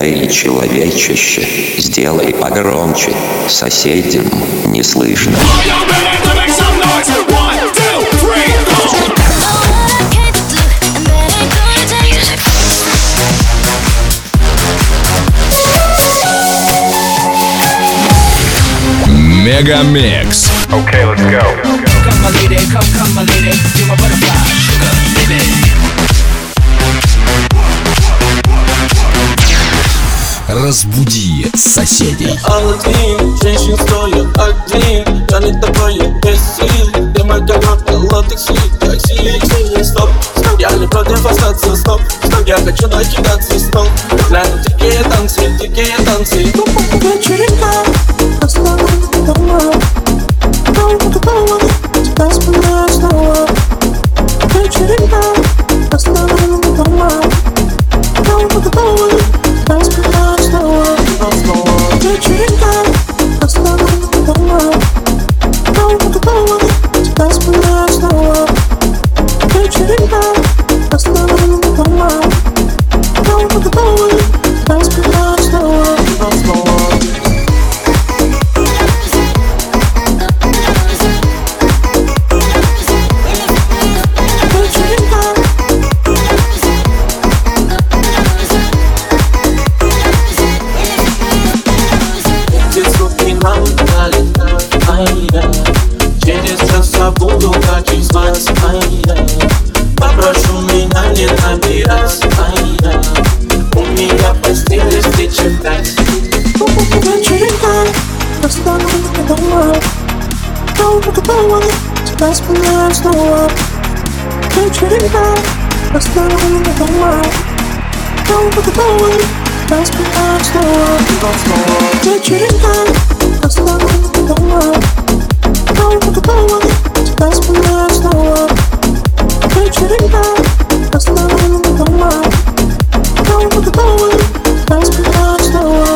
Эй, человечище, сделай погромче, соседям не слышно. Мегамикс. Okay, let's go. Come my lady, come my lady, you're my butterfly, sugar, baby. Разбуди соседей. Один, женщин стоит один, тянет такое без сил. Ты моя коробка, латекс, сил. Стоп, стоп, я не против остаться, стоп, стоп, я хочу накидаться, стоп. Глянь, дикие танцы, вечеринка, оставим дома. Давай по-другому, тебя вспоминаю снова. Вечеринка, оставим дома. Давай по-другому, тебя вспоминаю снова. Вечеринка, оставим дома. Давай по-другому, тебя вспоминаю снова. Вечеринка, оставим дома. Давай по-другому, тебя вспоминаю снова. Через час забуду, как их звать. Попрошу меня не набирать. У меня в постели встречи 5. Вечеринка, оставим дома. Давай по-другому, тебя вспоминаю снова. Вечеринка, оставим дома. Давай по-другому, тебя вспоминаю снова. Вечеринка, оставим дома. Давай по-другому, тебя вспоминаю снова. Вечеринка, оставим дома. Давай по-другому, тебя вспоминаю снова.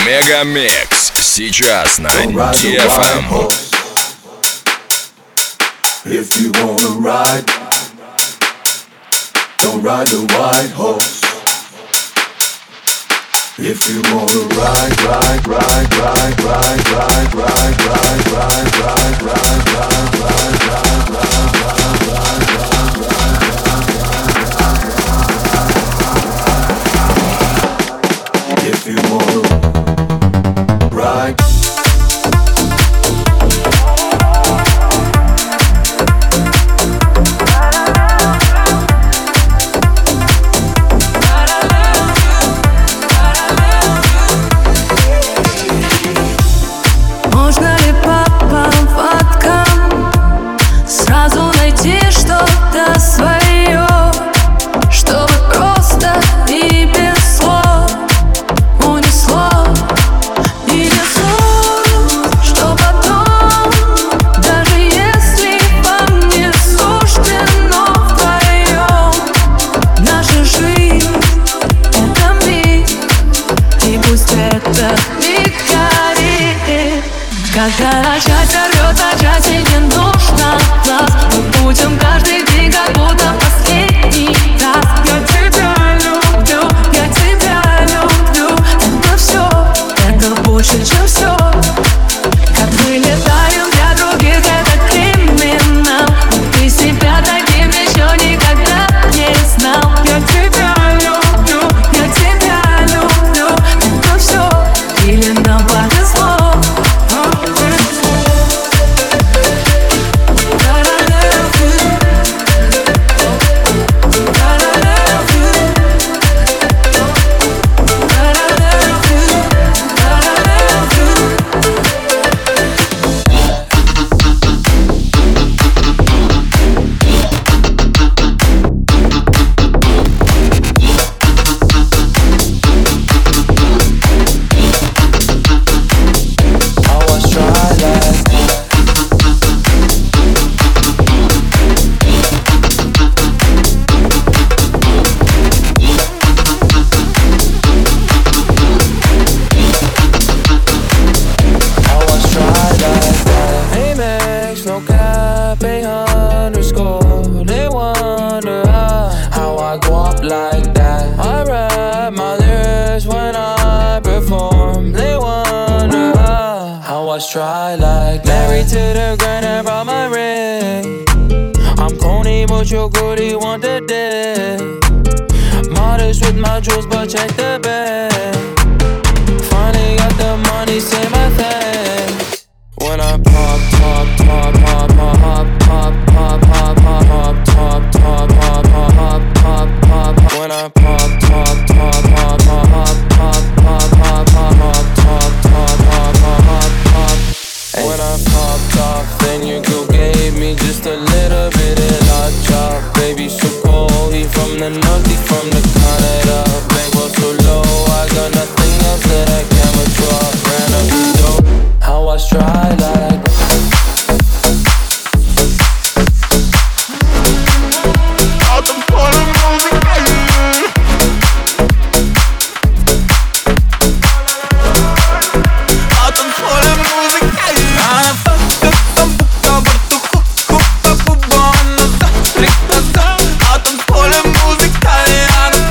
Мегамикс сейчас на DFM. If you wanna ride, don't ride the white horse. If you wanna ride, ride, ride, ride, ride, ride, ride, ride, ride, ride, ride, ride, ride, ride, if you wanna ride. Можно ли по поводкам сразу найти что-то свое, чтобы просто и без слов унесло? И без слов, что потом, даже если вам не суждено вдвоем, наша жизнь — это миг, и пусть это миг горит. Когда начать рвется, часе не нужно глаз. Мы будем каждый день, как будто последний раз. Я тебя люблю, я тебя люблю. Это все, это больше, чем все. Как мы летаем для других, это криминал. Но ты себя таким еще никогда не знал. Я тебя люблю, я тебя люблю. Это все, или нам повезло. Try like married to the grind and brought my ring. I'm corny but you're good, you want the dick. Modest with my jewels but check the bag. Finally got the money, say my thanks. When I pop, pop, pop, pop, pop, pop, pop, pop, pop, pop, pop, pop, pop, pop, pop, pop. When I pop, pop, pop, pop, pop, pop, pop, pop, pop, pop, pop, pop, pop, pop. When I popped off, then your girl gave me just a little bit of hot chop. Baby, so cold, he from the north, he from the Canada. Bankroll so low, I got nothing else that I can withdraw. Ran up the dough, how I try like. Поле музыка, и она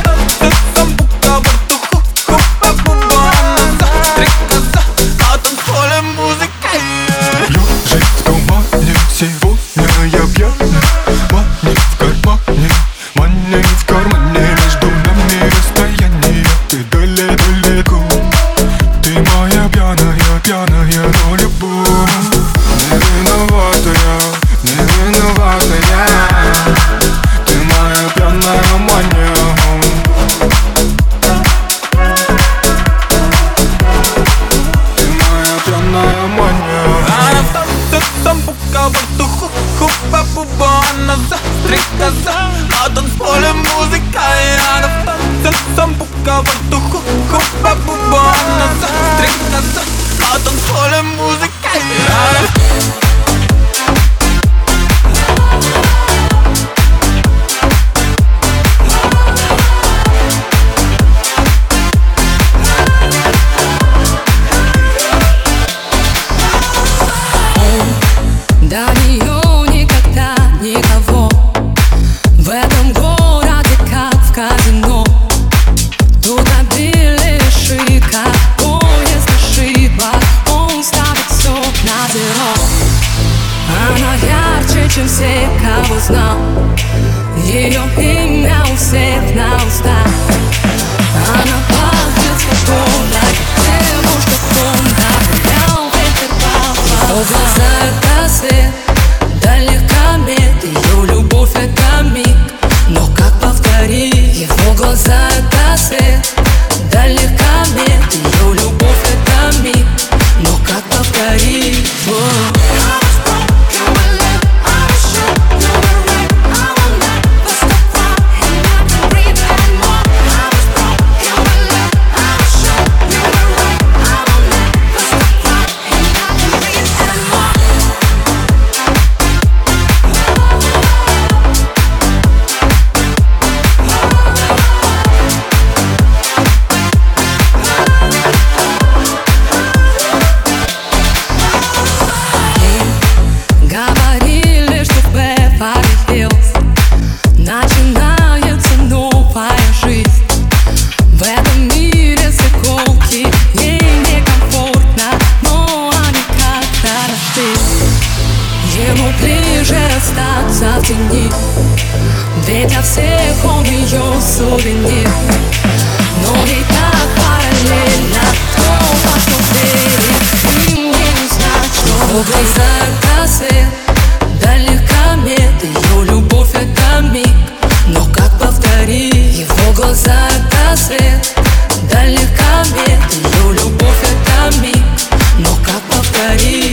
глаза это свет, далекомет. Ее любовь это миг, но как повторить?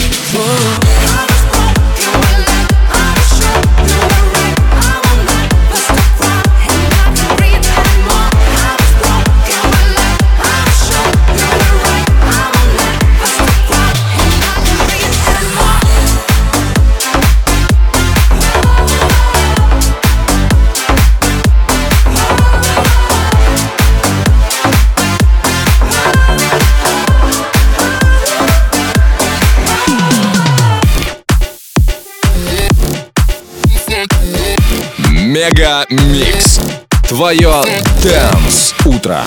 Мега Микс. Твое Dance утро.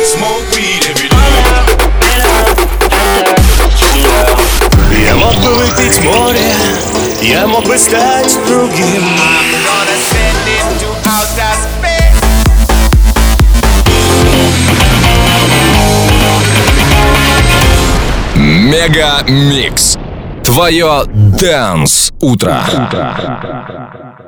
smoke weed every day. Я мог бы выпить море, я мог бы стать другим. I'm gonna send it to outer space. Мега Микс. Твое Dance утро.